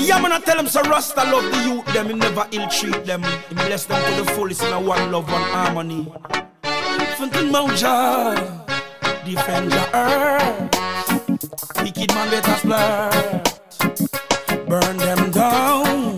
Yeah, man, I tell them so Rasta love the youth, them, he never ill-treat them. He bless them to the fullest in a one love, one harmony. Fontaine Mouja, defend your earth. Wicked man better splurt. Burn them down.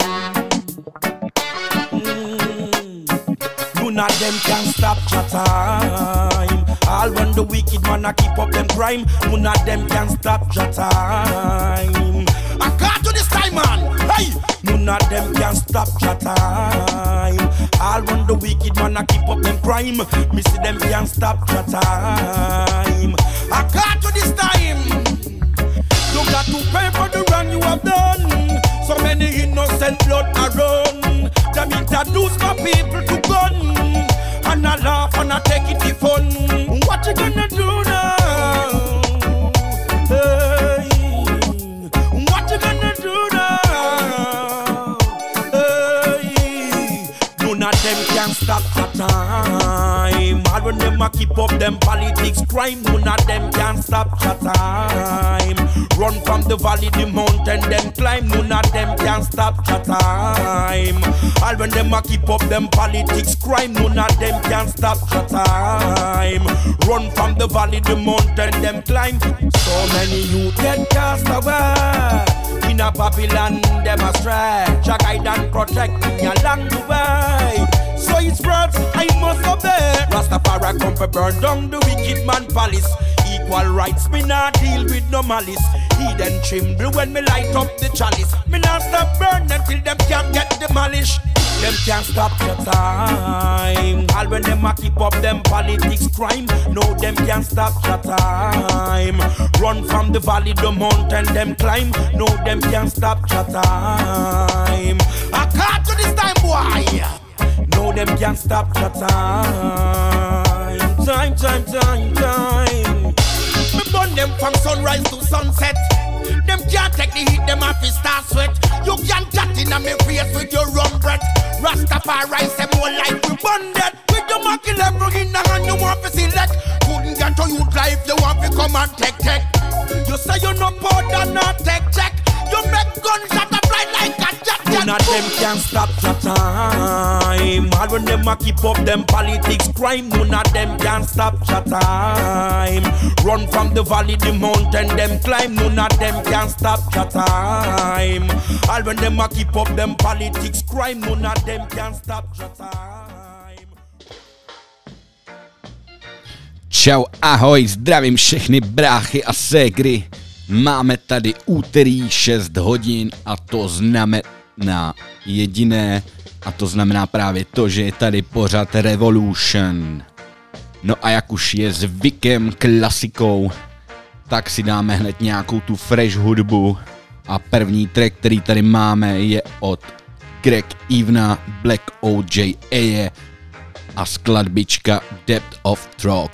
None of them can stop your time. All when the wicked man a keep up them crime, none of them can stop your time. I can't do this time, man. Hey, none of them can stop your time. All when the wicked man a keep up them crime, me see them can stop your time. I can't do this time. You got to pay for the wrong you have done. So many innocent blood are run. Them introduce my people to gun. And I laugh and I take it for fun. What you gonna do now? Hey. What you gonna do now? Hey. None of them can stop the time. All when them a keep up them politics crime, none of them can stop the time. Run from the valley, the mountain, them climb, none of them can stop the time. All when them a keep up them politics crime, none of them can stop the time. Run from the valley, the mountain, them climb. So many youth get cast away. In a Babylon, them a stray. Jah guide and protect me along the way. So it's words I must obey. Rastafari come for burn down the wicked man palace. Equal rights, me not deal with no malice. Heathen tremble when me light up the chalice. Me not stop burn them till them can't get demolished. Them can't stop your time. All when them a keep up them politics crime, no them can't stop your time. Run from the valley, the mountain, them climb, no them can't stop your time. I can't do this time, boy. No them can't stop your time. Time. Me burn them from sunrise to sunset. Them can't take the heat, them have to start sweat. You can't chat in a me face with your rum breath. Rastafari say more like we burn that. With your marking level in the hand you want to select. Couldn't get to youth life, you want to come and take. You say you no powder, not take check. You make gunshot a fly like a jet. None of them can stop your time. All when them a keep up them politics crime, none of them can stop your time. Run from the valley, the mountain, them climb, none of them can stop your time. All when them a keep up them politics crime, none of them can stop your time. Čau, ahoj, zdravím všechny bráchy a ségry. Máme tady úterý 6 hodin a to znamená jediné, a to znamená právě to, že je tady pořad Revolution. No a jak už je zvykem, klasikou, tak si dáme hned nějakou tu fresh hudbu a první track, který tady máme, je od Greg Evena, Black OJA a skladbička Depth of Throat.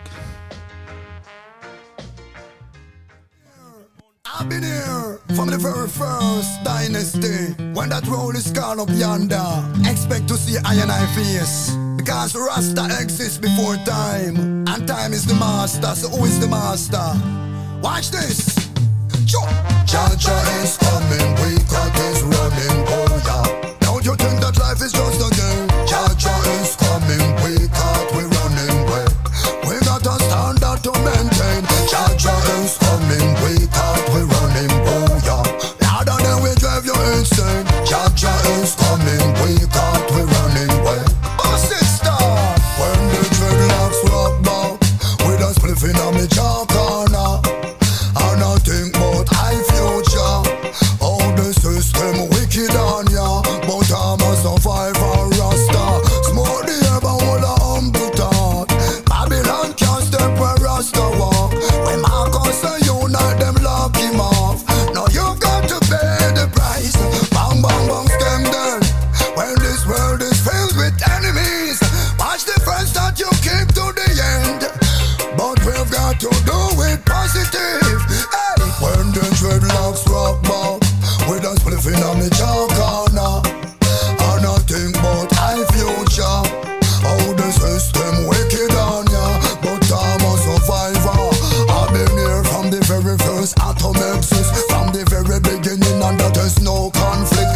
I've been here from the very first dynasty. When that roll is gone up yonder, expect to see I and I face. Because Rasta exists before time, and time is the master, so who is the master? Watch this. Jaja is coming, we got this running, oh yeah. Don't you think that life is just a game? Jaja is coming, we got we running way. We got a standard to maintain. Jaja is coming, we got we running, oh yeah. Louder than we drive you insane. Jaja is coming, we got we running way. Oh sister, when the dreadlocks rock back, with a spliff in a me jaw corner, and I think about high future. Oh the system wicked on ya, but I'm a survivor Rasta. Smoke the herb and hold a humble thought. Babylon can't step where Rasta walk. When Marcus and unite them lock him off. Now you got to pay the price. Bang bang bang stem dead. When this world is filled with enemies, watch the friends that you keep to the end. But we've got to do it positive. Hey. When the dreadlocks rock back, with a spliff in a me jaw corner, and I think about high future. How the system wicked on ya, but I'm a survivor. I've been here from the very first atom exist, from the very beginning, and that there's no conflict.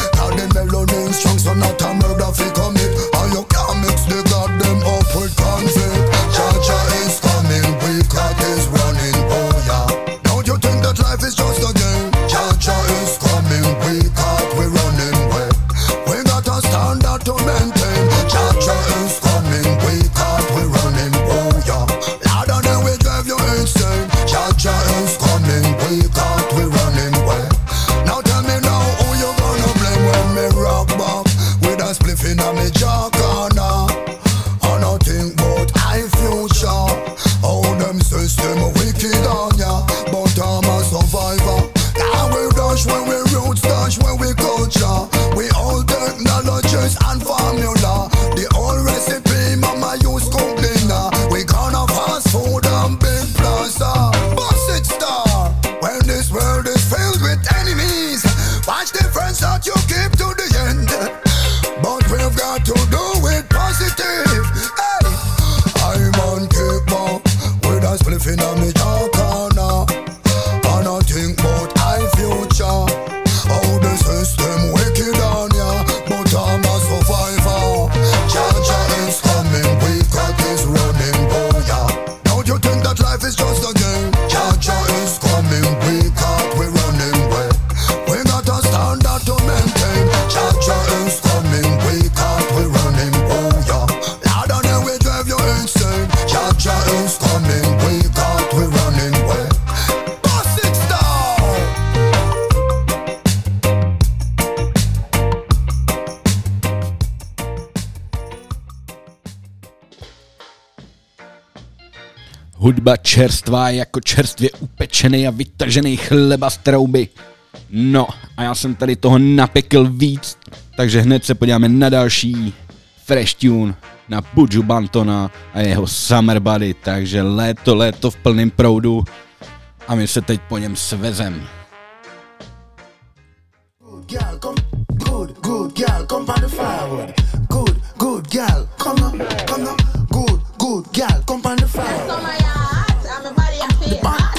Hudba čerstvá jako čerstvě upečený a vytažený chleba z trouby. No a já jsem tady toho napekl víc, takže hned se podíváme na další fresh tune na Buju Bantona a jeho Summer Body, takže léto v plném proudu a my se teď po něm svezem. Good girl, come on the firewood. Good girl, come on. Good girl, come on the firewood. So my heart, and my body, I feel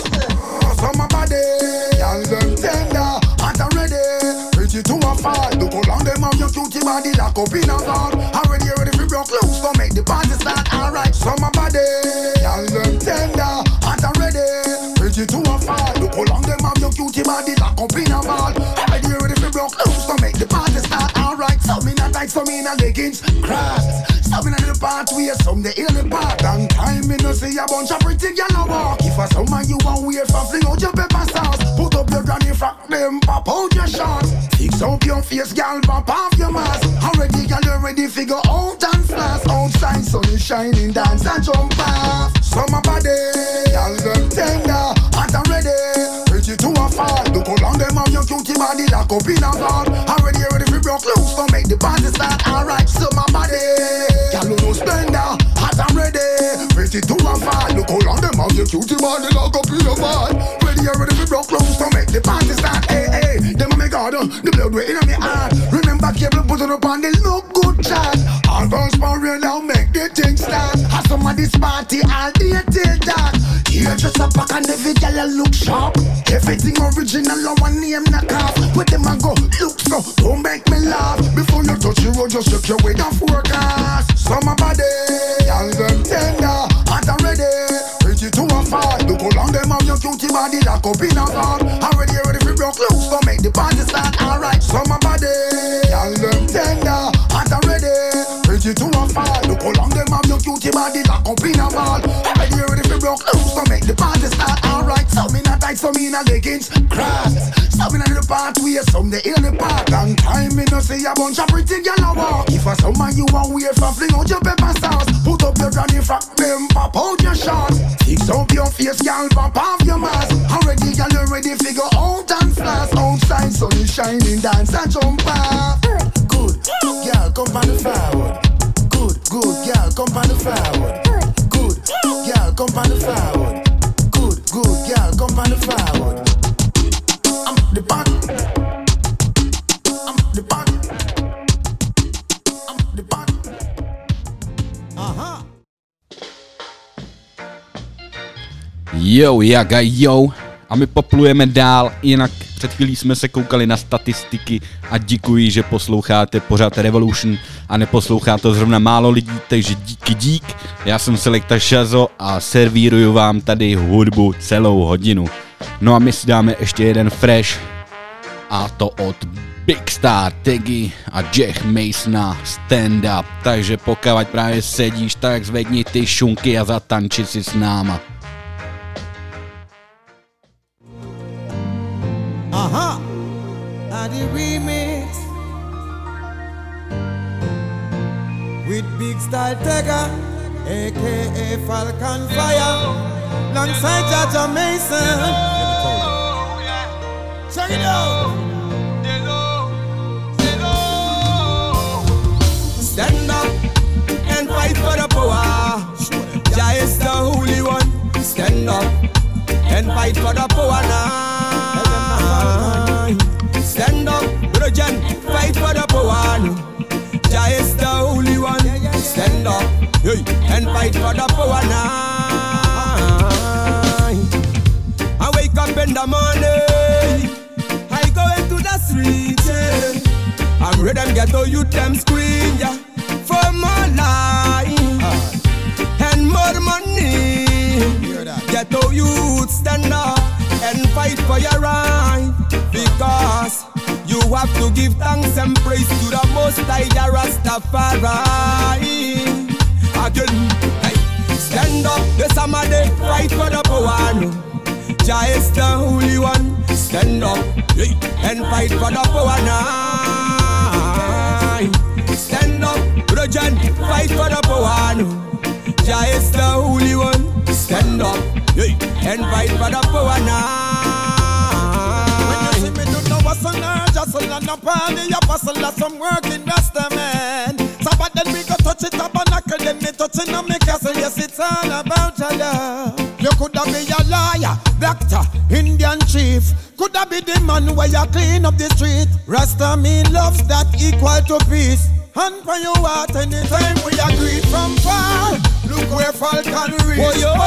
hot. So my body, y'all them tender, hot and ready. Pretty to a fight. Look how long them have your cutie body lock up in a guard. Already ready for broke loose, so make the party start. Alright, so my body, y'all them tender, hot and ready. Pretty to a fight. Look how long them have your cutie body lock up in a guard. Already ready for broke loose, so make the party start. Alright, some in a tight, some in a leggings, cross. Some in a little part where some they in the part. Long time me no see a bunch of pretty gyal walk. If a summer you want wear for fling out your pepper sauce. Put up your granny frock, them pop out your shorts. Fix up your face, gyal, pop off your mask. Already gyal, you ready figure out and flash. Outside sun is shining, dance and jump off. Summer body, gyal them tender, hot and ready. Pretty to a fall. Look how long them have your cutie body lock up in a ball. Already ready for broke loose, so make the party start. Alright, summer body, gyal no spender, hot and ready. Pretty to a fall. Look how long them have your cutie body lock up in a ball. Ready for broke loose, so make the party start. Hey, them a me garden, the blood way in me heart. Remember cable put on up on the look good chat. All girls power now make the thing start. Have some of this party all day till dark. Here just a pack and every girl look sharp. Everything original, no one name knock off. With them a go look so, don't make me laugh. Before you touch the road, just check your way down forecast. Summer body, all them tender, hot and ready. Pretty to a fall. Look how long them have your cutie body lock up in a guard. Already ready for broke loose, so make the party start. Alright, summer body, all them tender, hot and ready. Pretty to a fall. Look how long them have your cutie body lock up in a ball. Already ready for broke loose, so make the party start. Alright, some in a tight, some in a leggings, cross. Some in a little part where some they in the park. Long time me no see a bunch of pretty gyal walk. If a summer you want wear for fling out your pepper sauce. Put up your granny frock, them pop out your shorts. Fix up your face, gyal, pop off your mask. Already gyal, you ready figure out and flash. Outside sun is shining, dance and jump off. Good gyal, come on the firewood. Good gyal, come on the firewood. Good gyal, come on the firewood. Good gyal, come on the firewood. I'm the pot. I'm the pot. I'm the pot. Aha. Jo, jaga jo. A my poplujeme dál, jinak před chvílí jsme se koukali na statistiky a děkuji, že posloucháte pořád Revolution a neposlouchá to zrovna málo lidí, takže dík. Já jsem Selekta Shazo a servíruju vám tady hudbu celou hodinu. No a my si dáme ještě jeden fresh a to od Big Star, Teggy a Jack Masona Stand Up. Takže pokud právě sedíš, tak zvedni ty šunky a zatanči si s náma. Aha! And the remix with Big Style Tegga, aka Falcon Fire, alongside Jaja Mason. Check it out! Stand up and fight for the power. Jah is the holy one. Stand up and fight for the power now. Stand up, Rojan, fight for the power. Jah is the holy one. Stand up, hey, and fight for the power now. I wake up in the morning, I go into the streets, yeah. I'm ready and get all youth them scream, yeah. For more life and more money. Get all youth stand up and fight for your right. Because you have to give thanks and praise to the Most High, Jah Rastafari. Again, hey, stand up, the summer day, fight for the power. Jah is the holy one. Stand up, hey, and fight for the power now. Stand up, Rojan, fight for the power. Jah is the holy one. Stand stand up, hey, and fight for the power now. When you see me do no hustle or jostle and no party, you bustle of some working rasta man. So but then we go touch it tabernacle, then me touching on me castle. Yes, it's all about your love. You coulda be a lawyer, doctor, Indian chief. Coulda be the man where you clean up the street. Rasta me loves that equal to peace. And for you out anytime we agree from far. Look where Falcon reach. Oh, yo.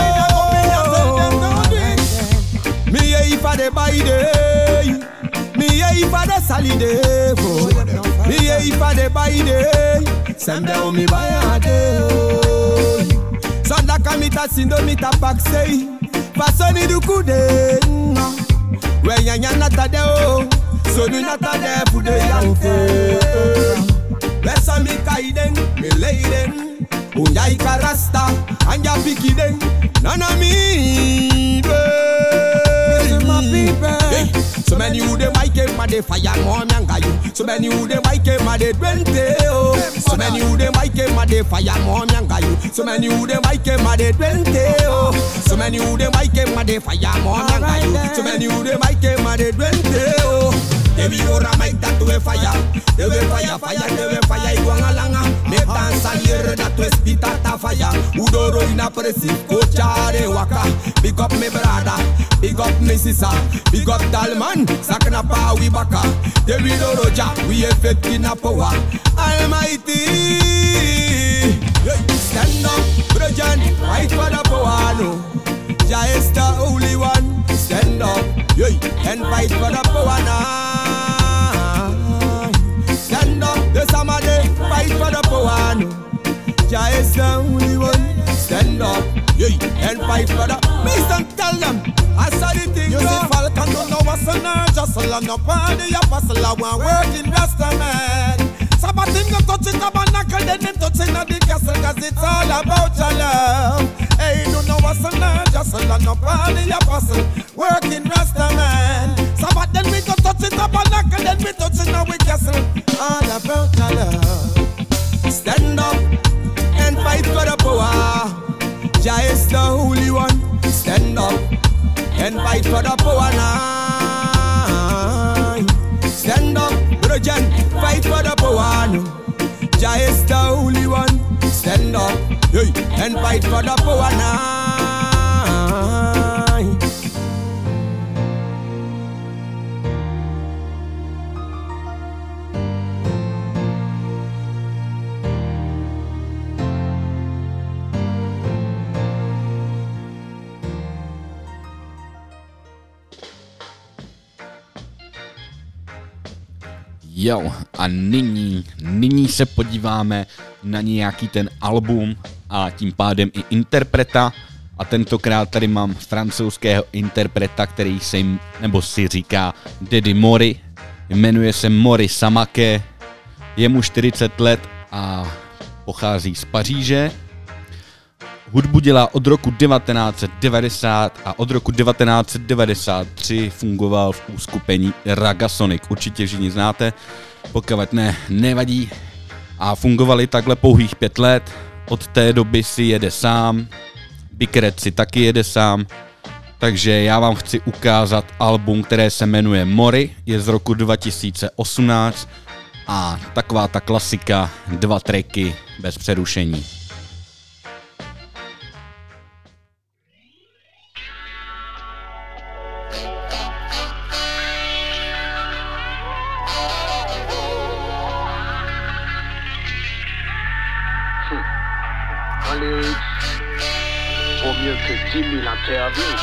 Me here for the by day. Me here for the solid day. Me here for the by day. Send down me by a day. Sonda kamita sindo mita baksei. Fasoni du kude. When ya nata de o. So du nata de fude yanke. Lesa mi kaiden, mi leiden. Unya ikarasta, anja pikiden. Nana mi my people. So many who dem I came ma de fire more nyanga you. So many who dem I came ma de 20 oh. So many who dem I came ma de fire more nyanga you. So many who dem I came ma de 20 oh. So many who dem I came ma de fire more nyanga you. So many who dem I came ma de 20 oh. They be ora make that to a fire. They will fire, they will fire. Iguanga langa. Me dansa here that to spit at a fire. Udoro in a presi, coachare waka. Big up me brother, big up me sister, big up Dalman, sakna pa we baka. They will roja, we effect in a power. Almighty, stand up, Brojan, fight for the power. No, Jah is the only one. Stand up, and fight for the power now. Stand up, the summer day, fight for the power. No, Jah is the only one. Stand up, and fight for the. Please don't tell them. I saw the thing. You see Falcon don't know what's on her. Jostle and no party, a bustle and one working rasta man. So but him go touch it tabernacle, then him touching at the castle, cause it's all about your love. Hey, you don't know what's on her. Jostle and no party, a bustle, working rasta man. So but then we go touch it tabernacle, then we touching at the castle, all about your love. Stand up and fight for the power. Jah is the holy one. Stand up and fight for the power now. Stand up, Brojan, fight for the power now. Jah is the holy one. Stand up, and fight for the power now. Jo, a nyní se podíváme na nějaký ten album a tím pádem i interpreta. A tentokrát tady mám francouzského interpreta, který si říká Daddy Mori. Jmenuje se Mori Samake, je mu 40 let a pochází z Paříže. Hudbu dělá od roku 1990 a od roku 1993 fungoval v uskupení Ragasonic. Určitě všichni znáte, pokud ne, nevadí. A fungovali takhle pouhých 5 let. Od té doby si jede sám, Big Red si taky jede sám. Takže já vám chci ukázat album, které se jmenuje Mori, je z roku 2018 a taková ta klasika, 2 tracky bez přerušení. Vaut mieux que 10 000 interviews.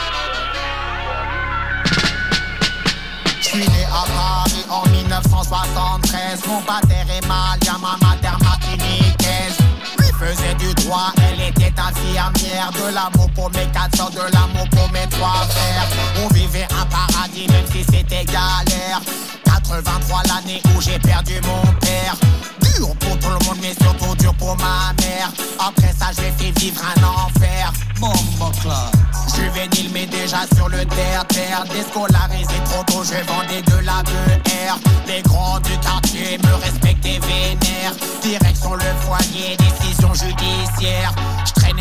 Je suis né à Paris en 1973. Mon pater est malien, ma mère martiniquaise. Lui faisait du droit, elle était infirmière. De l'amour pour mes 4 soeurs, de l'amour pour mes 3 frères. On vivait un paradis même si c'était galère. 83 l'année où j'ai perdu mon père. Dur pour tout le monde mais surtout dur pour ma mère. Après ça j'ai fait vivre un enfer. Juvénile mais déjà sur le terre-terre. Déscolarisé trop tôt, je vendais de la BR. Les grands du quartier me respectaient vénère. Direction le foyer, décision judiciaire. Je traînais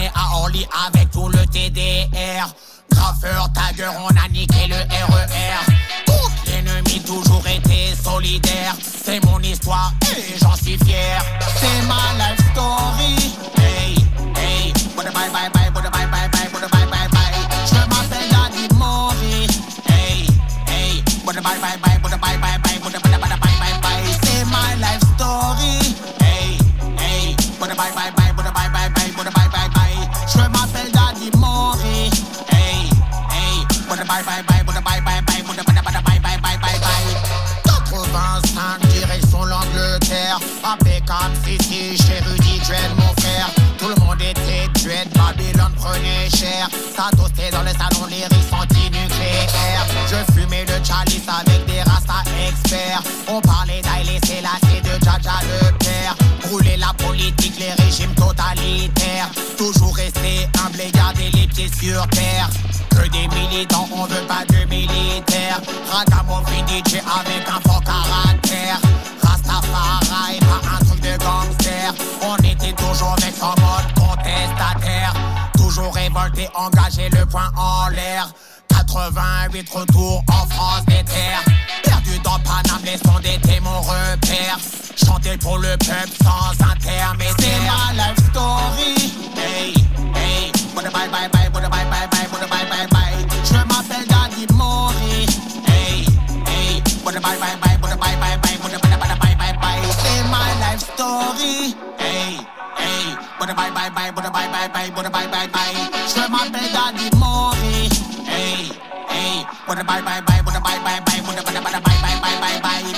né à Orly avec tout le TDR. Graffeur, tagger, on a niqué le RER. Contre l'ennemi, toujours été solidaire. C'est mon histoire et j'en suis fier. C'est ma life story. Hey, hey, bye bye bye bye bye bye bye bye bye bye. Je m'appelle Daddy Mori. Hey, hey, bye bye bye bye bye bye bye bye bye. C'est my life story. Hey, hey, bye bye bye bye bye bye bye bye. Je m'appelle Daddy Mori. Hey, hey, bye bye bye bye bye bye bye. 85 direction l'Angleterre. Impeccable, ici chez Rudy Dread mon frère. Tout le monde était dread, Babylone prenait cher. Ça toastait dans le salon, lyrics anti-nucléaires. Je fumais le chalice avec des rastas experts. On parlait d'Haïlé Sélassié, de Djaja le père. Brûler la politique, les régimes totalitaires. Toujours rester humble et garder les pieds sur terre. Que des militants, on veut pas de militaires. Ragamuffin DJ avec un fort caractère. Rastafari, pas un truc de gangster. On était toujours avec son mode contestataire. Toujours révolté, engagé, le poing en l'air. 88 retours en France des terres. Perdu dans Paname, les sons d'été mon repère. Chanter pour le peuple sans intermédiaire. C'est ma life story. Hey, hey, bye bye bye bye bye bye bye bye. Je m'appelle Daddy Mori. Hey, hey, bye bye bye bye bye bye bye. C'est my life story. Hey, hey, bye bye bye bye bye bye. Je m'appelle Daddy Mori. Hey, hey, bye bye bye bye bye bye.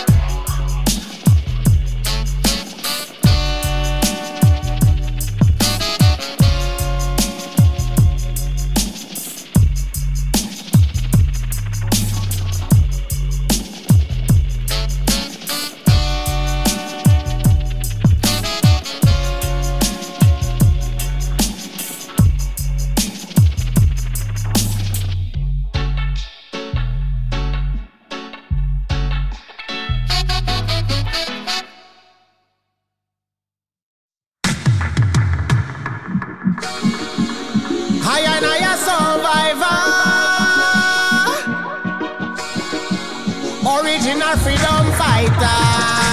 Original freedom fighter.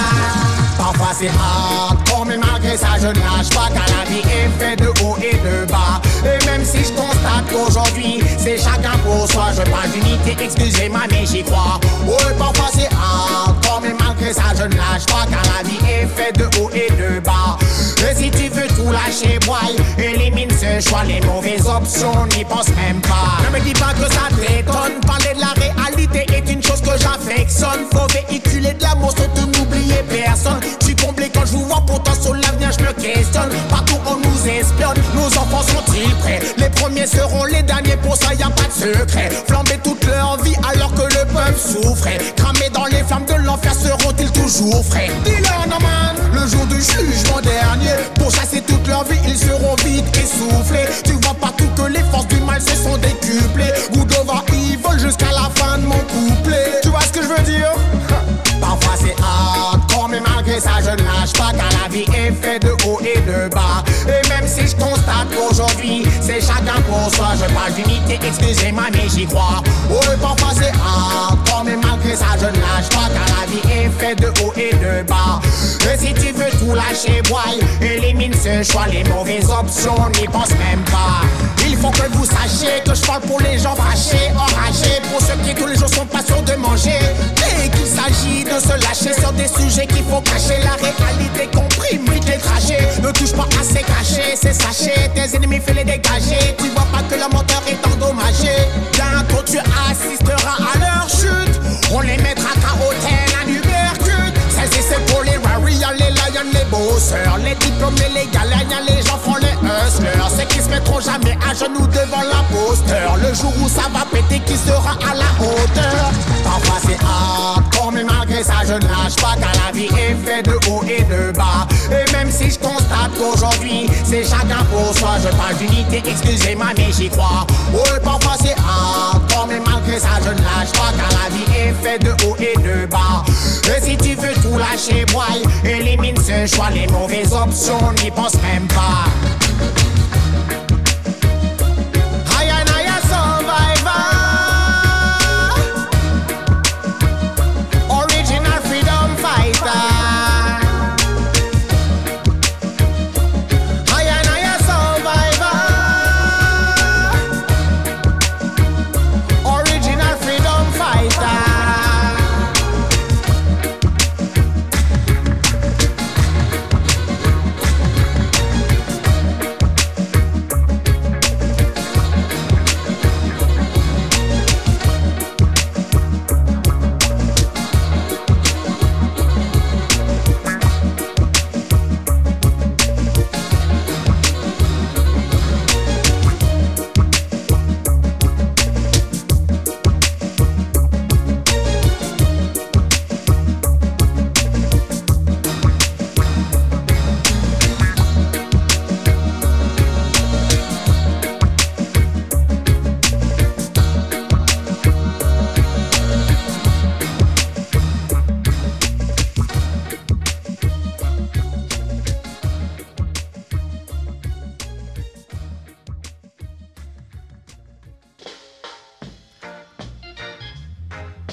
Parfois c'est hardcore, mais malgré ça je ne lâche pas. Car la vie est faite de haut et de bas. Et même si je constate qu'aujourd'hui c'est chacun pour soi, je parle d'unité, excusez-moi mais j'y crois. Ouais, parfois c'est hardcore, mais malgré ça je ne lâche pas. Car la vie est faite de haut et de bas. Et si tu veux tout lâcher, boy, élimine ce choix. Les mauvaises options, n'y pense même pas. Ne me dis pas que ça t'étonne. Parler de la réalité est une chose que j'affectionne. Faut véhiculer de l'amour sans te n'oublier personne. Je suis comblé quand je vous vois, pourtant sur l'avenir je me questionne. Partout on nous espionne, nos enfants sont-ils prêts? Les premiers seront les derniers, pour ça y a pas de secret. Flamber toute leur vie alors que le peuple souffrait. Cramés dans les flammes de l'enfer, seront-ils toujours frais? Dis-leur non man, le jour du jugement dernier. Pour chasser toute leur vie, ils seront vite essoufflés. Tu vois partout que les forces du mal se sont décuplées. Good over evil jusqu'à la fin de mon couplet. Tu vois ce que je veux dire? Parfois c'est hardcore, mais malgré ça je ne lâche pas. Car la vie est faite de haut et de bas. Et même si je constate qu'aujourd'hui c'est chacun pour soi, je parle d'unité, excusez-moi mais j'y crois. Ouais, parfois c'est hardcore, mais malgré ça je ne lâche pas. Car la vie est faite de haut et de bas. Et si tu veux tout lâcher, boy, élimine ce choix. Les mauvaises options, n'y pense même pas. Il faut que vous sachiez que je parle pour les gens fâchés, enragés, pour ceux qui tous les jours sont pas sûrs de manger. Et qu'il s'agit de se lâcher sur des sujets qu'il faut cacher. La réalité comprime vite les trajets. Ne touche pas à ces cachets, ces sachets. Tes ennemis fais les dégager. Tu vois pas que le moteur est endommagé. Bientôt tu assisteras à leur chute. On les mettra KO tel un Ubercute. Celles-ci c'est pour les warriors, les lions, les bosseurs, les diplômés, les gagnants, les gens font les hustlers. Ceux qui se mettront jamais à genoux devant l'imposteur. Le jour où ça va péter, qui sera à la hauteur? Parfois c'est hardcore, mais malgré ça je ne lâche pas. Car la vie est faite de haut et de bas. Et même si je constate qu'aujourd'hui c'est chacun pour soi, je parle d'unité, excusez-moi mais j'y crois. Ouais, parfois c'est hardcore, mais malgré ça je ne lâche pas. Car la vie est faite de haut et de bas. Et si tu veux tout lâcher, boy, élimine ce choix. Les mauvaises options, n'y pense même pas.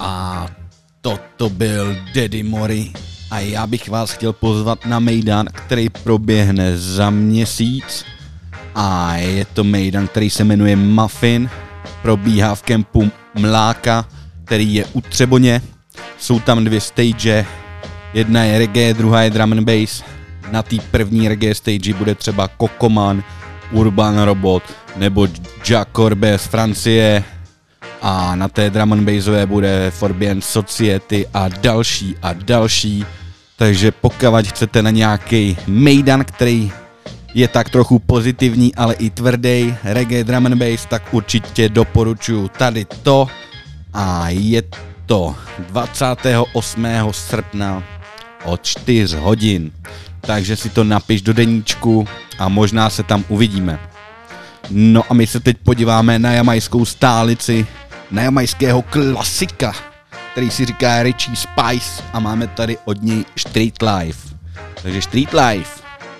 A toto byl Daddy Mori. A já bych vás chtěl pozvat na mejdan, který proběhne za měsíc. A je to mejdan, který se jmenuje Muffin. Probíhá v kempu Mláka, který je u Třeboně. Jsou tam 2 stage. Jedna je reggae, druhá je drum and bass. Na té první reggae stage bude třeba Kokoman, Urban Robot nebo Jack Corbe z Francie. A na té drum and bassové bude Forbien Society a další. Takže pokud chcete na nějaký mejdan, který je tak trochu pozitivní, ale i tvrdý reggae drum and bass, tak určitě doporučuji tady to. A je to 28. srpna od 4 hodin. Takže si to napiš do deníčku a možná se tam uvidíme. No a my se teď podíváme na jamajskou stálici, na jamajského klasika, který si říká Richie Spice a máme tady od něj Street Life. Takže Street Life.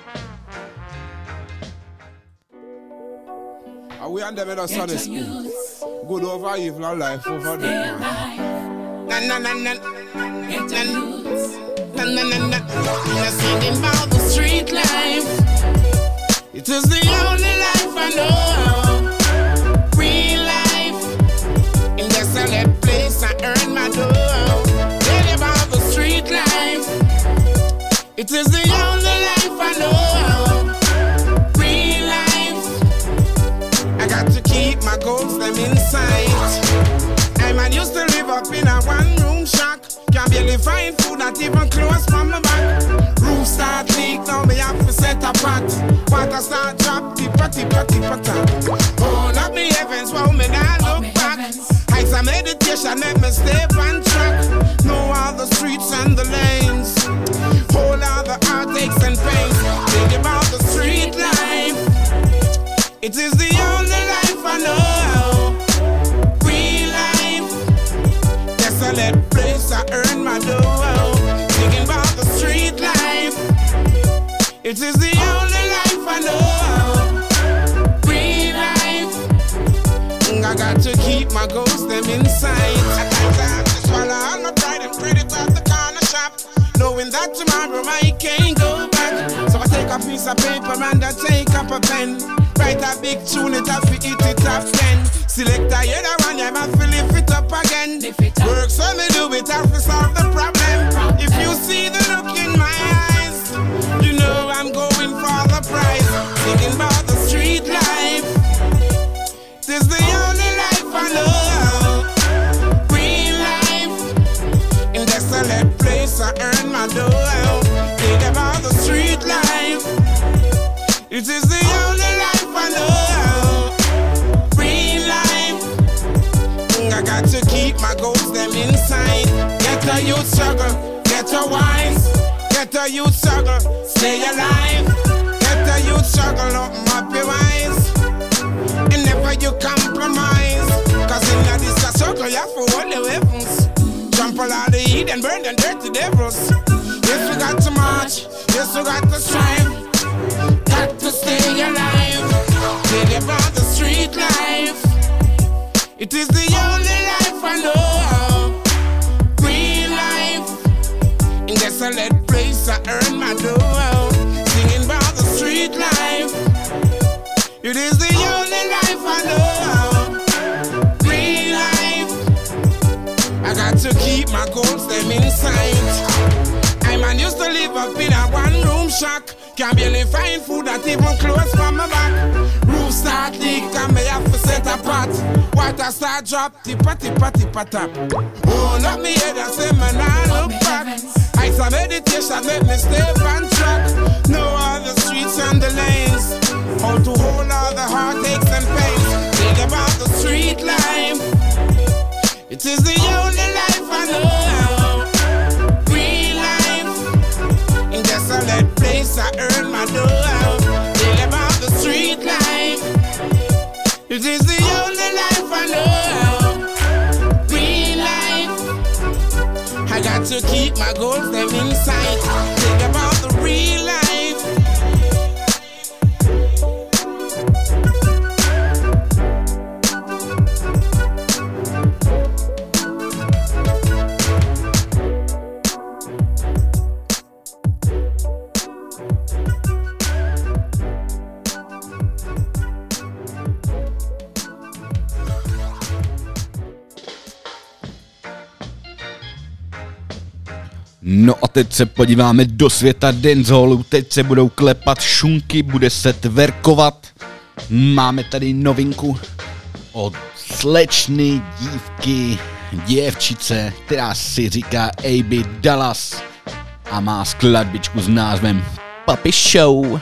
Are we on them in a Sunday school? Good over evil and life over death. You're singing about the street life. It is the only life I know. Real life. In the solid place I earn my dough. Tell you about the street life. It is the only life I know. Real life. I got to keep my goals them inside. I man used to live up in a one-room shack. Can't barely find food, not even clothes from my back. Roof start leak, now me have to set a pot. Water start drop, tippa tap. Hold up me heavens, wow me now look back. Heights of meditation, let me stay on track. Know all the streets and the lanes. Hold all the heartaches and pains. Think about the street life. It is the only life I know. Real life. Desolate place I earn my dough. Thinking about the street life. It is the only life I know. Real life. I got to keep my goals them inside. At times I have to swallow all my pride and credit at the corner shop, knowing that tomorrow I can't go back. So I take a piece of paper and I take up a pen. Write a big tune, it have to eat it up 10. Select a other one, I have to lift it up again. Work so me do it, have to solve the problem. If you see the look in my eyes, you know I'm going for the prize. Thinking about the street life. This is the only life I know. Real life. In desolate place I earn my dough. Think about the street life. It is the only life I know. Real life. I got to keep my goals them inside. Get a youth struggle, get a wise. Get a youth struggle, stay alive. Get a youth struggle, open up your eyes. And never you compromise. Cause in this circle you have to hold the weapons. Trample all the heat and burn them dirty devils. Yes, we got to march. Yes, we got to strive. Got to stay alive. Tell about the street life. It is the only life I know. Real life. In desolate place I earn my dough. Singing about the street life. It is the only life I know. Real life. I got to keep my goals them inside. I man used to live up in a one-room shack. Can't barely find food, not even clothes from my back. Roof start leak and me have to set a pot. Water start drop, tippa tap. Hold up me head and say man I look back. Heights of meditation make me stay on track. Know all the streets and the lanes. How to hold all the heartaches and pains. Think about the street life. It is the only life I know. Real life. In desolate place I earn my dough. Think about the street life. It is the only life I know. Real life. I got to keep my goals them inside. Think about the real life. No a teď se podíváme do světa dancehallu, teď se budou klepat šunky, bude se tverkovat. Máme tady novinku od slečny dívky, děvčice, která si říká AB Dallas a má skladbičku s názvem Puppy Show.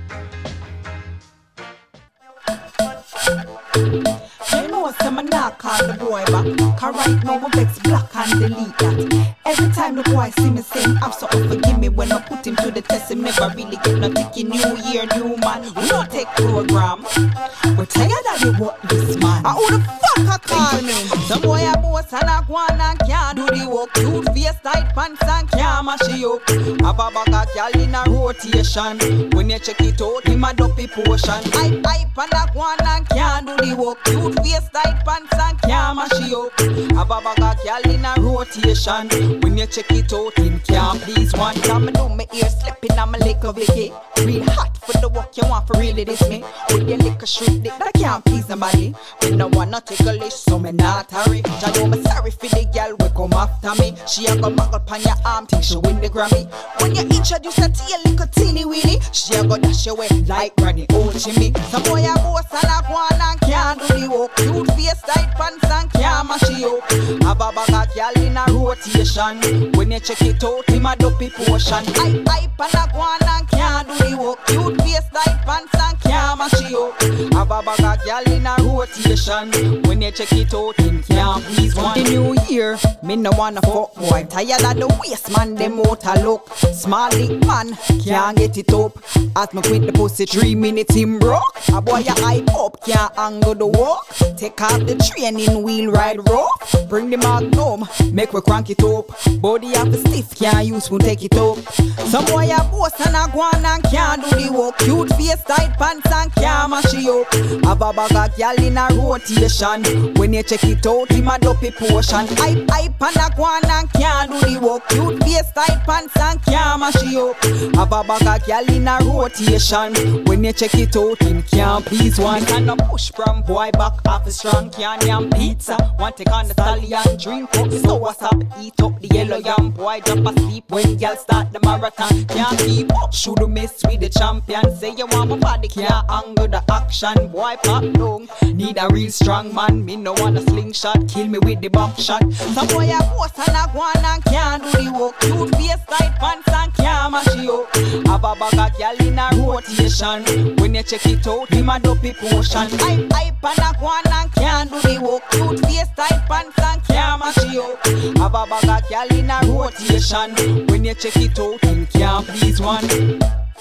I'ma not call the boy back. Cause right now my vex black and delete that. Every time the boy see me saying have something forgive me when I put him to the test. Him never really get no ticket. New year, new man. We don't take program. We're tired of the work this man. Who the fuck I call me? Some boy a boss and a guan and can't do the work. Cute face, tight pants and can't mash it up. Have a bag of gal in a rotation. When you check it out, him a dopey potion. Hype and a guan and can't do the work. Cute face, tight pants and can't mash it up. Have a bag of gal in a rotation. When you check it out, him can't please one. Time I do my ear slipping on my lick of Vicky. Real hot for the work you want for really this me. With your liquor shriek dick that can't please nobody. We no wanna take a list so me not hurry. I know me sorry for the girl we come after me. She a go muggle pan your arm till she win the Grammy. When you introduce her to your little teeny weeny, she a go dash away like Granny old Jimmy. Some boy a boss and a guan and can't do the work. Cute face, tight pants and can't mash it up. Have a bag of girl in a rotation. When you check it out, him a dopey potion. Hype and a guan and can't do the work. Cute face, tight pants and can't mash it up. Have a bag of girl in a rotation. When you check it out, him can't please one. The new year, me no wanna fuck boy. Tired of the waste man, them out a look. Small dick man, can't get it up. As me quit the pussy 3 minutes him broke. A boy a hype up, can't angle the walk. Take off the training wheel ride rope. Bring the magnum, make we crank it up. Body have a stiff, can't use we take it up. Some boy a boss and a guan and can't do the work. Cute face, tight pants and can't mash it up. Have a bag of gal in a rotation. When you check it out, him a dopey potion. Hype and a guan and can't do the work. Cute face, tight pants and can't mash it up. Have a bag of gal in a rotation. When you check it out, him can't please one. And a push from boy back off a strong can yam pizza. One take on the stallion, drink up, so what's up? Eat up the yellow yam. Boy drop asleep when y'all start the marathon. Can't keep up, should have mess with the champion. Say you want my body, can't angle the action. Boy pop down, need a real strong man. Me no want a slingshot, kill me with the buck shot. Some boy a boss and a guan and can't do the work. Cute face, tight pants and can't mash it up. Have a bag of gal in a rotation. When you check it out, him a dopey potion. Hype and a guan and can't do the work. Cute face, tight pants and can't mash it up. Have a bag of gal in a rotation. When you check it out, him can't please one.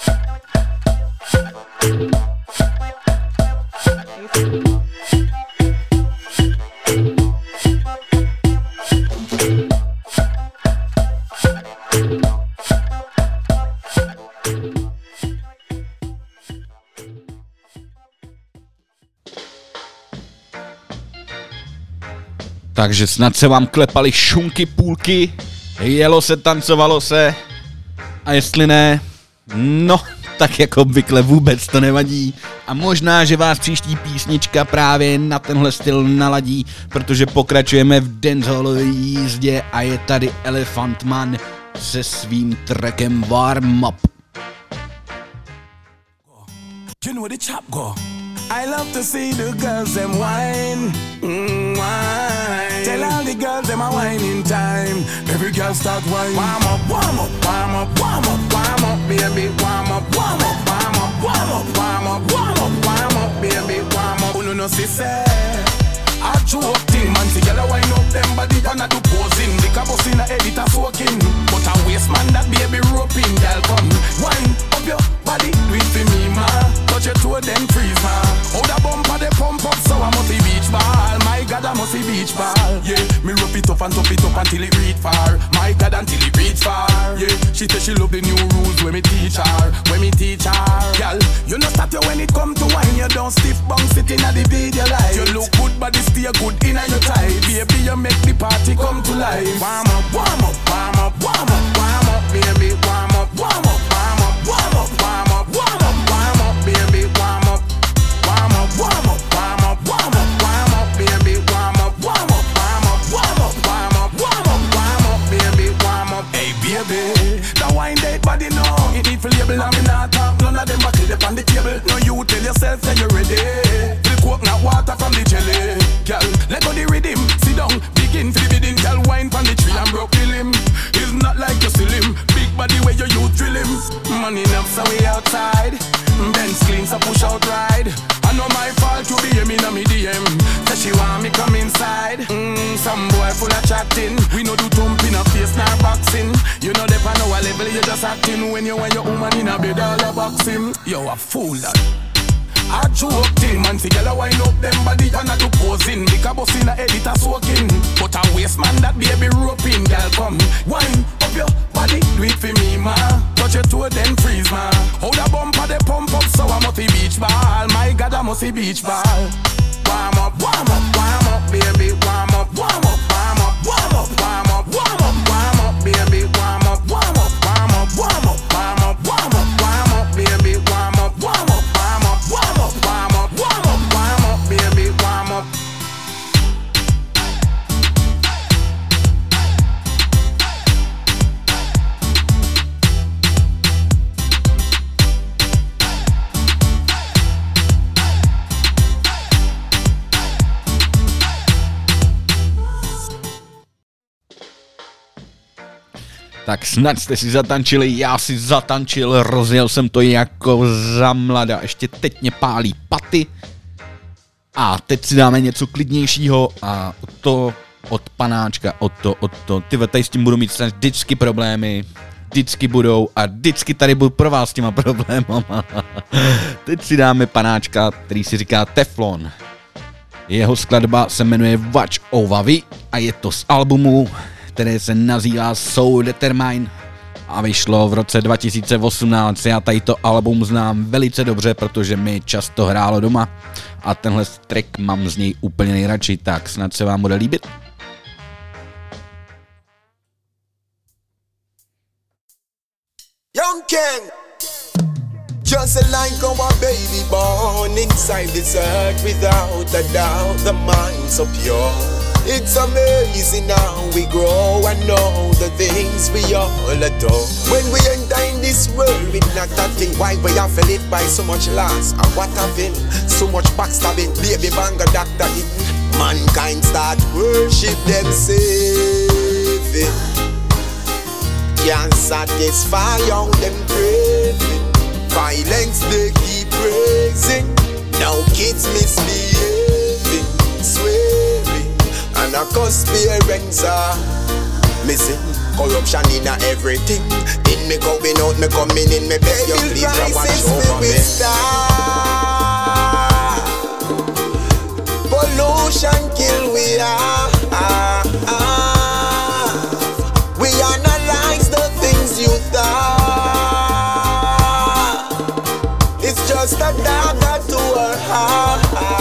Takže snad se vám klepaly šunky půlky, jelo se, tancovalo se a jestli ne, no tak jako obvykle vůbec to nevadí a možná, že vás příští písnička právě na tenhle styl naladí, protože pokračujeme v dancehallové jízdě a je tady Elephant Man se svým trackem Warm Up. You know the chop go. I love to see the girls them whine, whine. Tell all the girls them a whining time. Every girl start whine. Warm up, warm up, warm up, warm up, warm up, baby. Warm up, warm up, warm up, warm up, warm up, warm up, warm up, baby. Warm up. Oh no no, see say. I joke thing, man, together wind up them body and I do posing. Lick a bus in a edit a soaking. But a waste man that baby roping. Girl come, wind up your body, do it for me, ma. Touch your toe then freeze, ma. How the bumper they pump up so I must be beach ball. My God, I must be beach ball. Yeah, me rope it up and top it up until it reach far. My God, until it reach far. Yeah, she say she love the new rules when me teach her, when me teach her. Girl, you know stop you when it come to wine. You don't stiff bang sitting at the video light. You look good but stay good in your tight. Baby, you make the party come to life. Warm up, warm up, warm up, warm up, warm up, baby. Warm up, warm up, warm up, warm up, warm up, warm up, warm up, baby. Warm up, warm up, warm up, warm up, warm up, warm up, baby. Warm up, warm up, warm up, warm up, warm up, warm up, warm up, baby. Warm up. Hey baby, teeth for label and me not talk. None of them back it up on the table. No you tell yourself that you're ready. Feel coconut water from the jelly. Girl, let go the rhythm. Sit down, begin for the bidding. Girl, wine from the tree and broke the limb. It's not like you still him. Big body where you drill him. Money enough so we outside. Benz clean so push out ride. I know my fault to be me no me DM. Say she want me come inside. Some boy full of chatting. We no do thumping a face nor boxing. You know they pan our level you just acting. When you and your woman in a bed all a boxing. You a fool that. I joke thing, man, see girl a wind up them body and a do posing. Make a bus in a editor soaking. But a waste man that baby roping. Girl come, wind up your body, do it for me, man. Touch your toe then freeze, man. Hold a bumper they pump up so I must be beach ball. My God I must be beach ball. Warm up, baby, warm up, warm up, warm up, warm up, warm up, warm up, warm up, baby, warm up, warm up, warm up, warm up, warm up, warm up, warm up, baby, warm up, warm up. Warm up, warm up, warm up, warm up, baby, warm up. Tak snad jste si zatančili, já si zatančil, rozjel jsem to jako za mlada, ještě teď mě pálí paty. A teď si dáme něco klidnějšího a to od panáčka, od to. Ty tady s tím budu mít vždycky problémy, vždycky budou a vždycky tady budu pro vás s těma problémama. Teď si dáme panáčka, který si říká Teflon. Jeho skladba se jmenuje Watch Over We a je to z albumu, které se nazývá Soul Determine a vyšlo v roce 2018. Já tady to album znám velice dobře, protože mi často hrálo doma a tenhle track mám z něj úplně nejradši, tak snad se vám bude líbit. Young King, just like our baby born inside this earth, without a doubt the mind's so pure. It's amazing how we grow and know the things we all adore. When we enter in this world with not a thing, why we have to live by so much loss and what having so much backstabbing, baby banger doctor it. Mankind start worship them saving. Can't satisfy young them craving. Violence they keep praising. Now kids misbehaving, swearing, and our parents are missing. Corruption in everything. In me going out, me coming in, me beg you please watch over me. Pollution kill we are. We analyze the things you thought. It's just a dagger to our heart.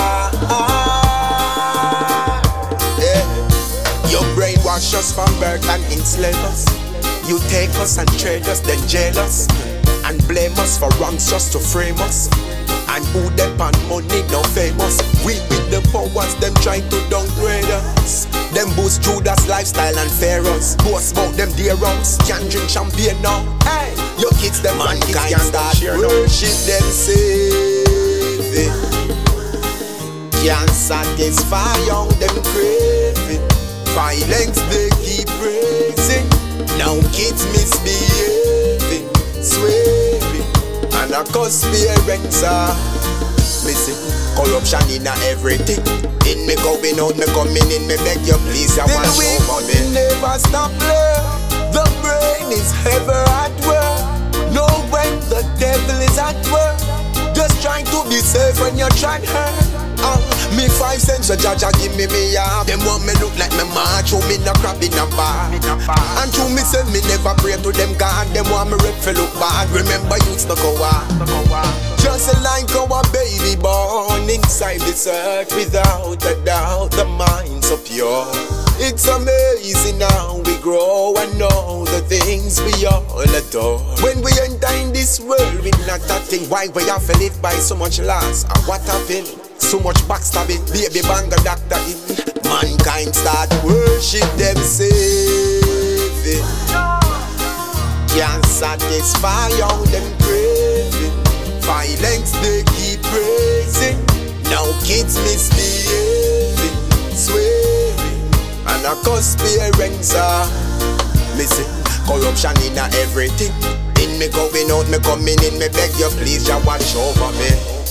Brainwash us from birth and enslave us. You take us and trade us, then jail us, and blame us for wrongs just to frame us. And who them on money no famous. We with the powers, them try to downgrade us. Them boost Judas lifestyle and pharaohs. Boast about them dear wrongs, can't drink champagne now. Hey, your kids them man kids can't start worship them saving. Can't satisfy young them craving. Violence they keep raising. Now kids misbehaving, swearing, and our parents are missing. Corruption in everything. In me going out, me coming in, me beg you please, I want over me. Never stop love. The brain is ever at work. Know when the devil is at work. Just trying to be safe when you're trying to hurt. Me 5 cents a Jaja give me up. Them want me look like me macho, me no crab in a bar. And to me say me never pray to them God. Them want me rep for look bad. Remember youths no go on. Just like our baby born inside this earth, without a doubt the mind's so pure. It's amazing how we grow and know the things we all adore. When we enter in this world with not a thing, why we have to live by so much loss and what happened? So much backstabbing, baby banger doctor in. Mankind start worship them saving. can't satisfy all them craving. Violence they keep raising. Now kids misbehaving, swearing, and a cause parents are missing. Corruption in everything. In me going out, me coming in. Me beg you please, ya watch over me.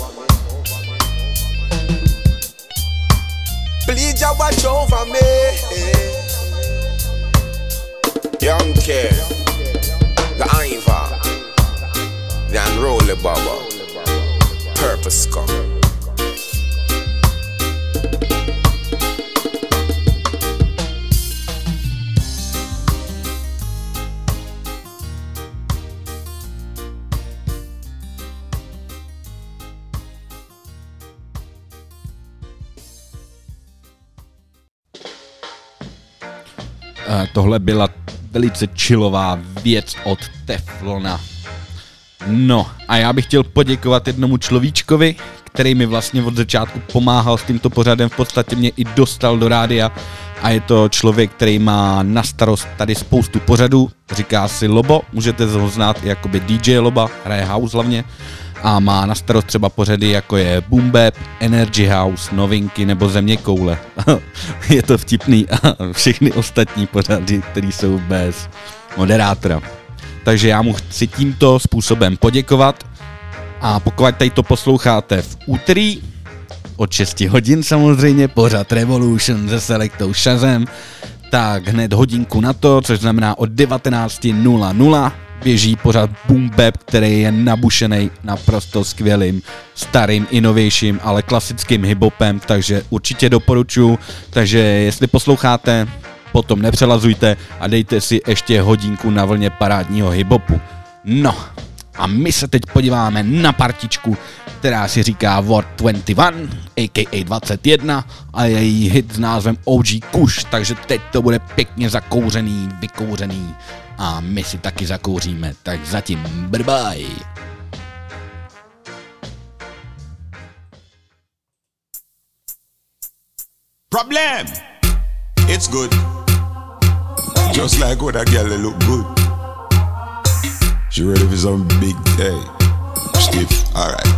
Please, ya watch over me. Young kid, the Iva, the Unrolled Baba, Purpose Come. Tohle byla velice chillová věc od Teflona. No a já bych chtěl poděkovat jednomu človíčkovi, který mi vlastně od začátku pomáhal s tímto pořadem, v podstatě mě i dostal do rádia a je to člověk, který má na starost tady spoustu pořadů, říká si Lobo, můžete ho znát jakoby DJ Loba, hraje house hlavně a má na starost třeba pořady jako je Boom Bap, Energy House, Novinky nebo Země koule. Je to vtipný a všechny ostatní pořady, které jsou bez moderátora. Takže já mu chci tímto způsobem poděkovat a pokud tady to posloucháte v úterý od 6 hodin samozřejmě, pořad Revolution se Selectou Shazem, tak hned hodinku na to, což znamená od 19:00 běží pořad Boom Bap, který je nabušený naprosto skvělým, starým, inovějším, ale klasickým hiphopem, takže určitě doporučuji, takže jestli posloucháte, potom nepřelazujte a dejte si ještě hodinku na vlně parádního hiphopu. No a my se teď podíváme na partičku, která si říká Ward 21, a.k.a. 21 a její hit s názvem OG Kush, takže teď to bude pěkně zakouřený, vykouřený a my si taky zakouříme, tak zatím bye. Problem, it's good. Just like what a girl, they look good. She ready for some big day. Stiff, alright.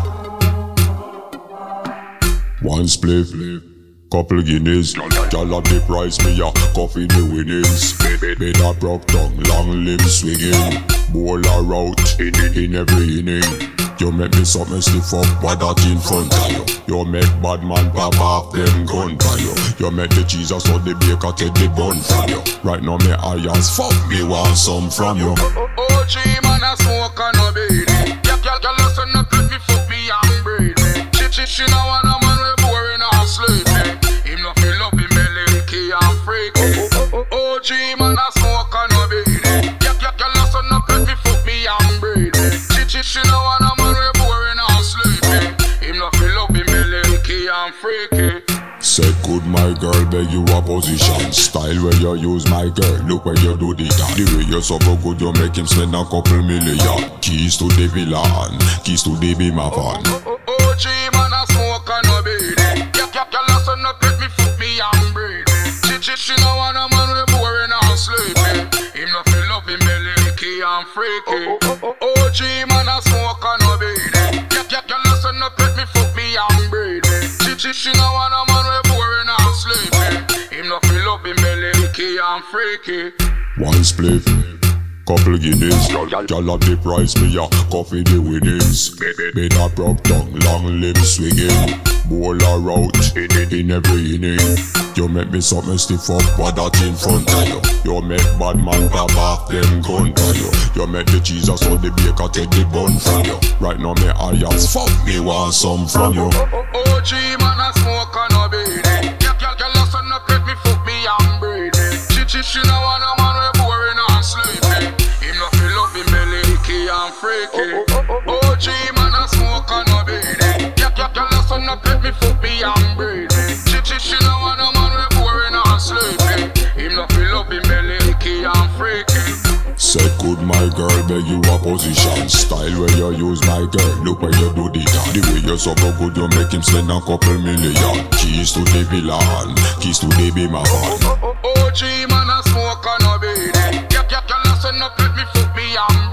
One spliff, couple Guineas. Y'all have the price, me a coffee the winnings. Bed a broke tongue, long limbs swinging. Bowl a route in every inning. You make me something stiff up, what that in front of you. You make bad man pop off them gun for you. You make the Jesus or the baker take the bun from you. Right now me irons fuck me want some from you. OG man a smoke and no beat. Y'all listen up let me fuck me and breathe. She now want a man we boring and sleepy. Him no feel up him belly key and freaky. OG man a smoke and no beat. Y'all listen up let me fuck me and breathe. She now want a man we boring and sleepy. Him no feel up him belly key and freaky. Say good my girl, beg you a position. Style where you use my girl, look where you do the dance. The way you so good, you make him spend a couple million. Keys to the villan, keys to the Beamer van. OG man a smoke and no beat. Y'all listen up let me fuck me and breathe. She now want a man we boring and sleepy. Him no feel up him belly key and freaky. OG man a smoke and no beat. Y'all listen up let me fuck me and breathe. She now want a man we boring and sleepy. Him no feel up him belly key and freaky. One spliff, couple Guineas. Y'all have the price, me a coffee the winnings. Bed a broke tongue, long limbs swinging. Bowl a route in every inning. You make me something stiff up, what that in front of you. You make bad man pop off them gun for you. You make the Jesus or the baker take the bun from you. Right now me irons fuck me want some from you. OG man a smoke and no beat. Y'all listen up let me fuck me and breathe. She now want a man we boring and sleepy. Him no feel up him belly key and freaky. OG man a smoke and no beat. Y'all listen up let me fuck me and breathe. She now want a man we boring and sleepy. Him no feel up him belly key and freaky. Say good my girl, beg you a position. Style where you use my girl, look where you do the dance. The way you so good, you make him spend a couple million. Keys to the villan, keys to the Beamer van. OG man a smoke and no beat. Y'all listen up let me fuck me and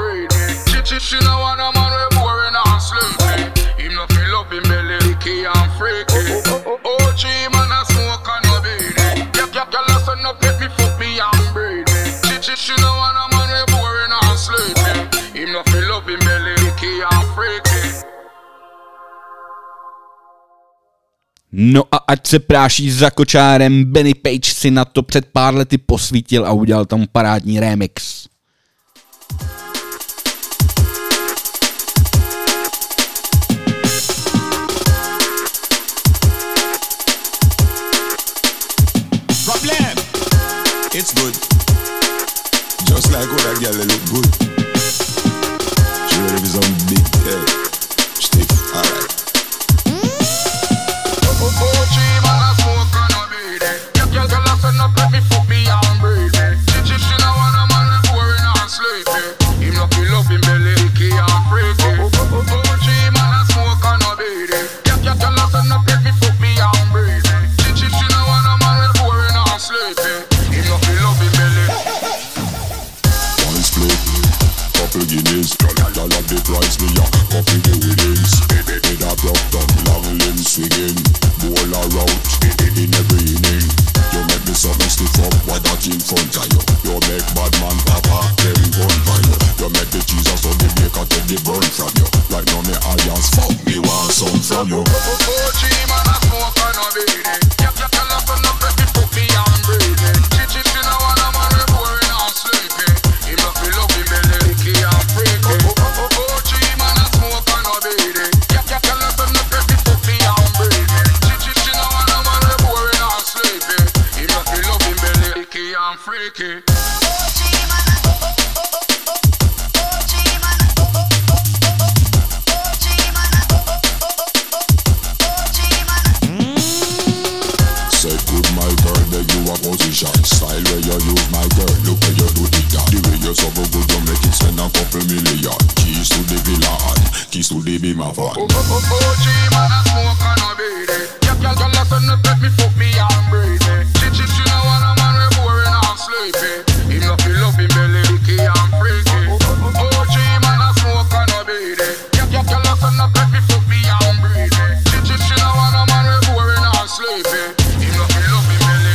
She no want a man we boring and sleepy. Him no feel love him belly licky and freaky. OG man a smoke and no beanie. Girl listen up, let me fuck me and breed me. She no want a man we boring and sleepy. Him no feel love him belly licky and freaky. No a ať se práší za kočárem, Benny Page si na to před pár lety posvítil a udělal tam parádní remix. Problem. It's good. Just like what that girl look good. She ready for some big head. Stiff, alright. OG man a smoke and a beat it. Girl listen up, let me fuck me and breathe it. She no want a man we boring and sleepy. Him no feel love him belly licky and freaky. OG man a smoke and a beat it. Girl listen up, let me fuck me and breathe it. She no want a man we boring and sleepy. Him no feel love him belly. One split, couple guineas. Y'all have the price me ya, couple the winnings. Head a block down, long limbs swinging. Bowl a route, in every inning. You make me something stiff up, what that in front of you. You make bad man papa, them gun for you. You make the Jesus so the baker take the burn from you. Right now me alliance, fuck me want some from you. OG man a smoke and a beat it. Girl listen up, let me fuck me and breathe it. She no want a man we boring and sleepy. Him no feel love him belly licky and freaky. OG man a smoke and a beat it. Girl listen up, let me fuck me and breathe it. She no want a man we boring and sleepy. Him no feel love him belly licky and freaky. Said good my girl, then you a position. Style where you use my girl, look where you do the that. The way you so good, you make it spend a couple million. Keys to the villa and keys to the beam of one. OG man a smoke and a beat it. Girl listen up, let me fuck me and breathe it. She no want a man we boring and sleepy. Him no feel love him belly licky and freaky. OG man a smoke and a beat it. Girl listen up, let me fuck me and breathe it. She no want a man we boring and sleepy. Him no feel love him belly.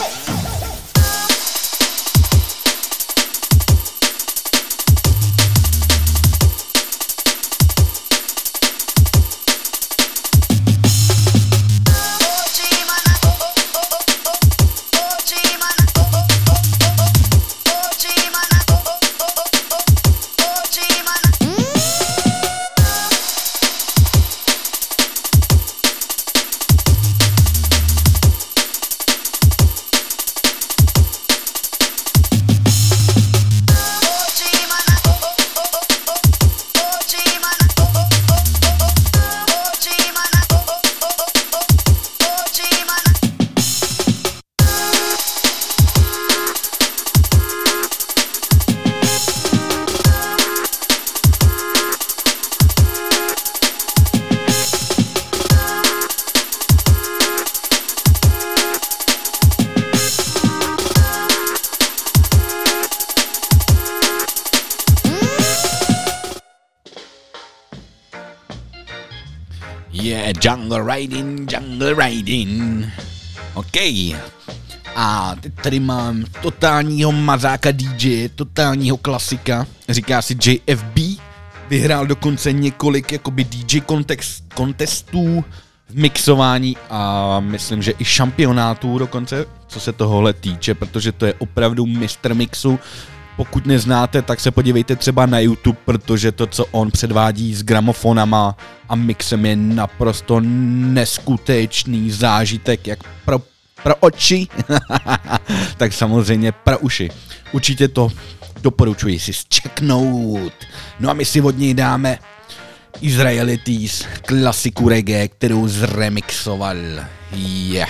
Jungle Riding. OK. A teď tady mám totálního mazáka DJ, totálního klasika. Říká si JFB. Vyhrál dokonce několik jakoby DJ kontestů v mixování a myslím, že i šampionátů dokonce, co se tohohle týče, protože to je opravdu mistr mixu. Pokud neznáte, tak se podívejte třeba na YouTube, protože to, co on předvádí s gramofonama a mixem, je naprosto neskutečný zážitek, jak pro oči, tak samozřejmě pro uši. Určitě to doporučuji si zčeknout. No a my si od něj dáme Israelites, klasiku reggae, kterou zremixoval. Yeah.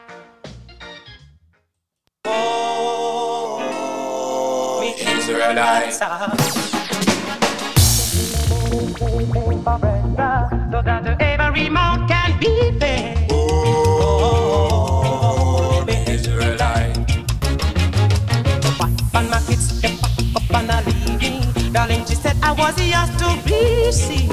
Israelites. So that every mouth can be fed. Oh, Israelite. Up on my kids, up on a lady. Darling, she said I I was yours to receive.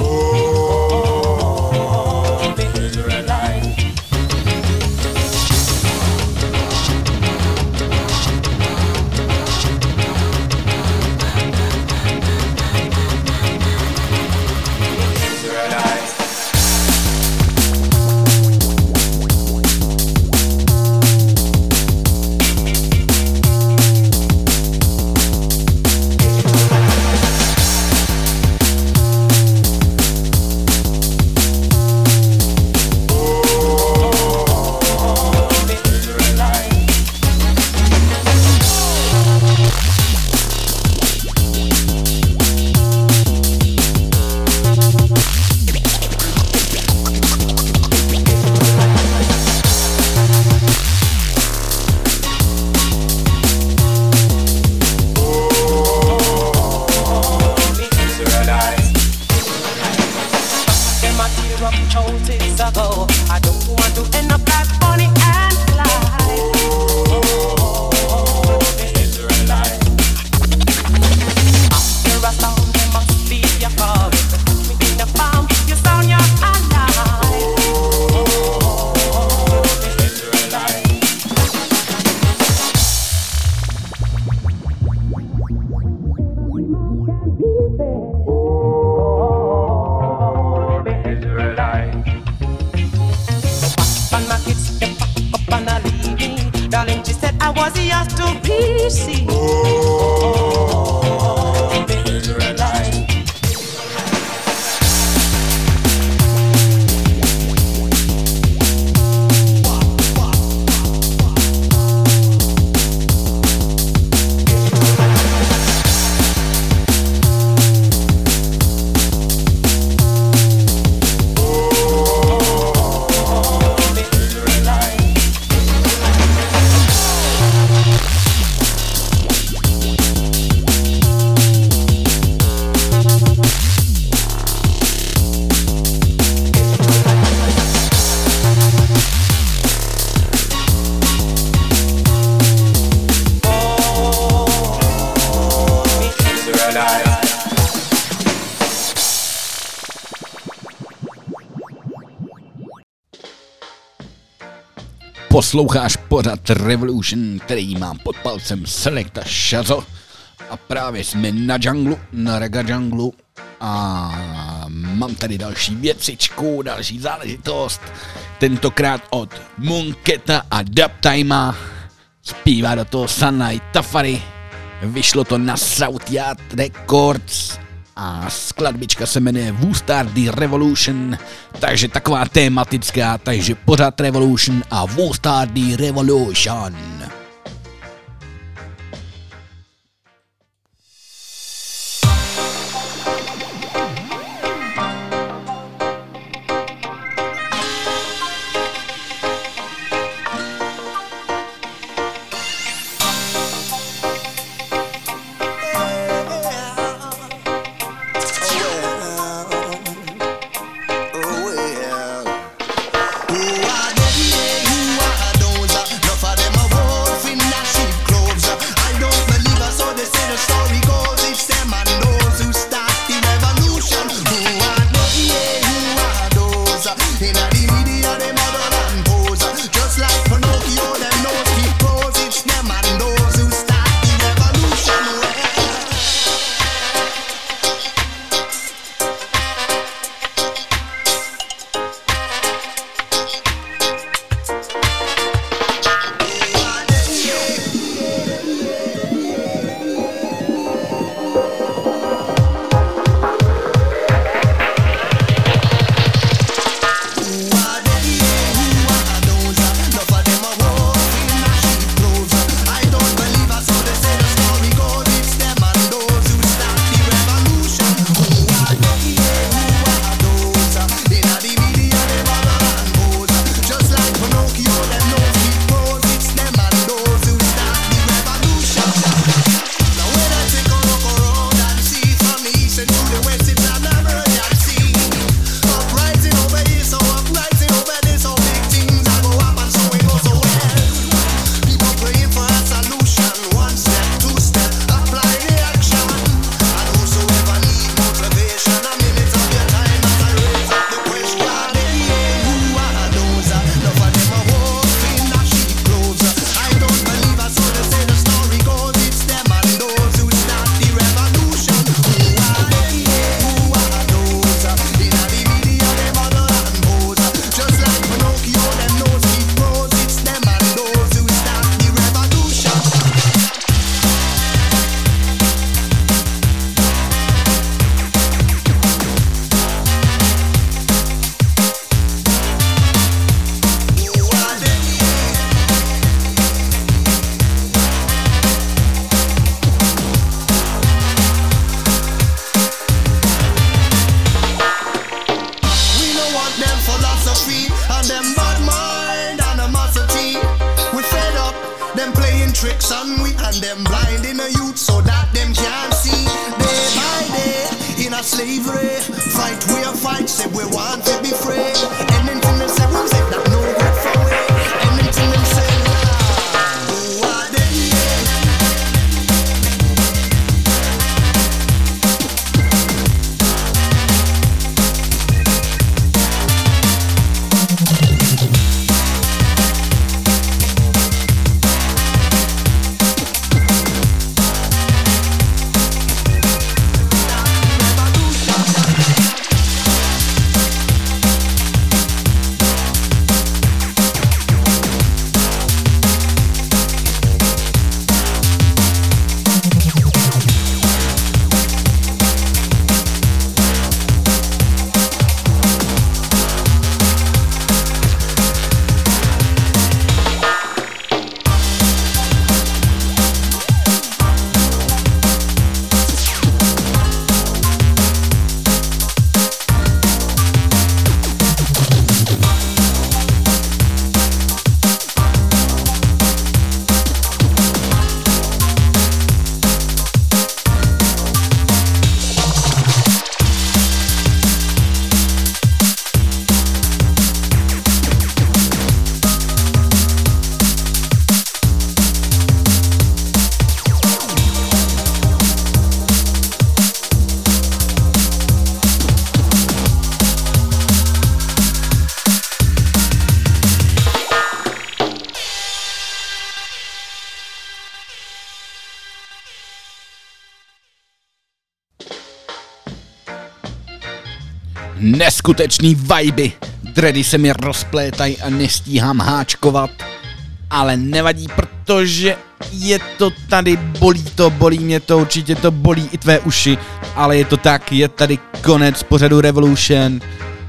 Posloucháš pořad Revolution, který mám pod palcem Selecta Shazo a právě jsme na džunglu, na Reggae džunglu a mám tady další věcičku, další záležitost, tentokrát od Monketa a Dubtimea, zpívá do toho Sunlight Tafari, vyšlo to na Southyard Records a skladbička se jmenuje Woostardy Revolution, takže taková tematická, takže pořád Revolution a Woostardy Revolution. Who are those? Enough of them a sun we and them blinding the youth so that them can't see. Day by day in a slavery, fight we a fight, say we want to be free. Anything them say, we say that no good for we. Anything them say, who are they? Neskutečný viby, dready se mi rozplétají a nestíhám háčkovat, ale nevadí, protože je to tady, bolí mě to, určitě to bolí i tvé uši, ale je to tak, je tady konec pořadu Revolution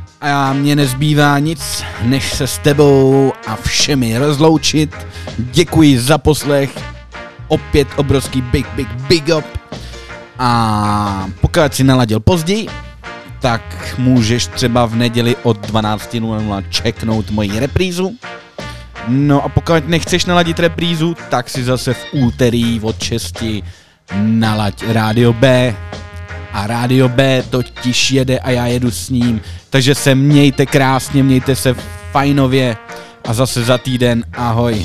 a mně nezbývá nic, než se s tebou a všemi rozloučit. Děkuji za poslech, opět obrovský big up a pokud si naladil později, tak můžeš třeba v neděli od 12:00 čeknout moji reprízu. No a pokud nechceš naladit reprízu, tak si zase v úterý od 6 nalaď Rádio B. A Rádio B totiž jede a já jedu s ním. Takže se mějte krásně, mějte se fajnově a zase za týden ahoj.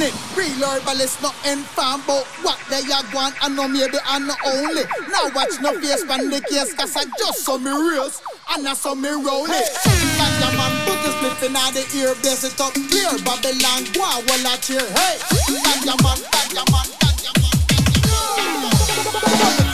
it. Real herbalist, no inform about what they are going. I know maybe I know only. Now watch no face from the case, cause I just saw me race. And I saw me roll it. Ganja man put the split in the ear, bless it up clear. Babylon, go on, well I cheer. Hey, ganja man, ganja man, ganja man, ganja man.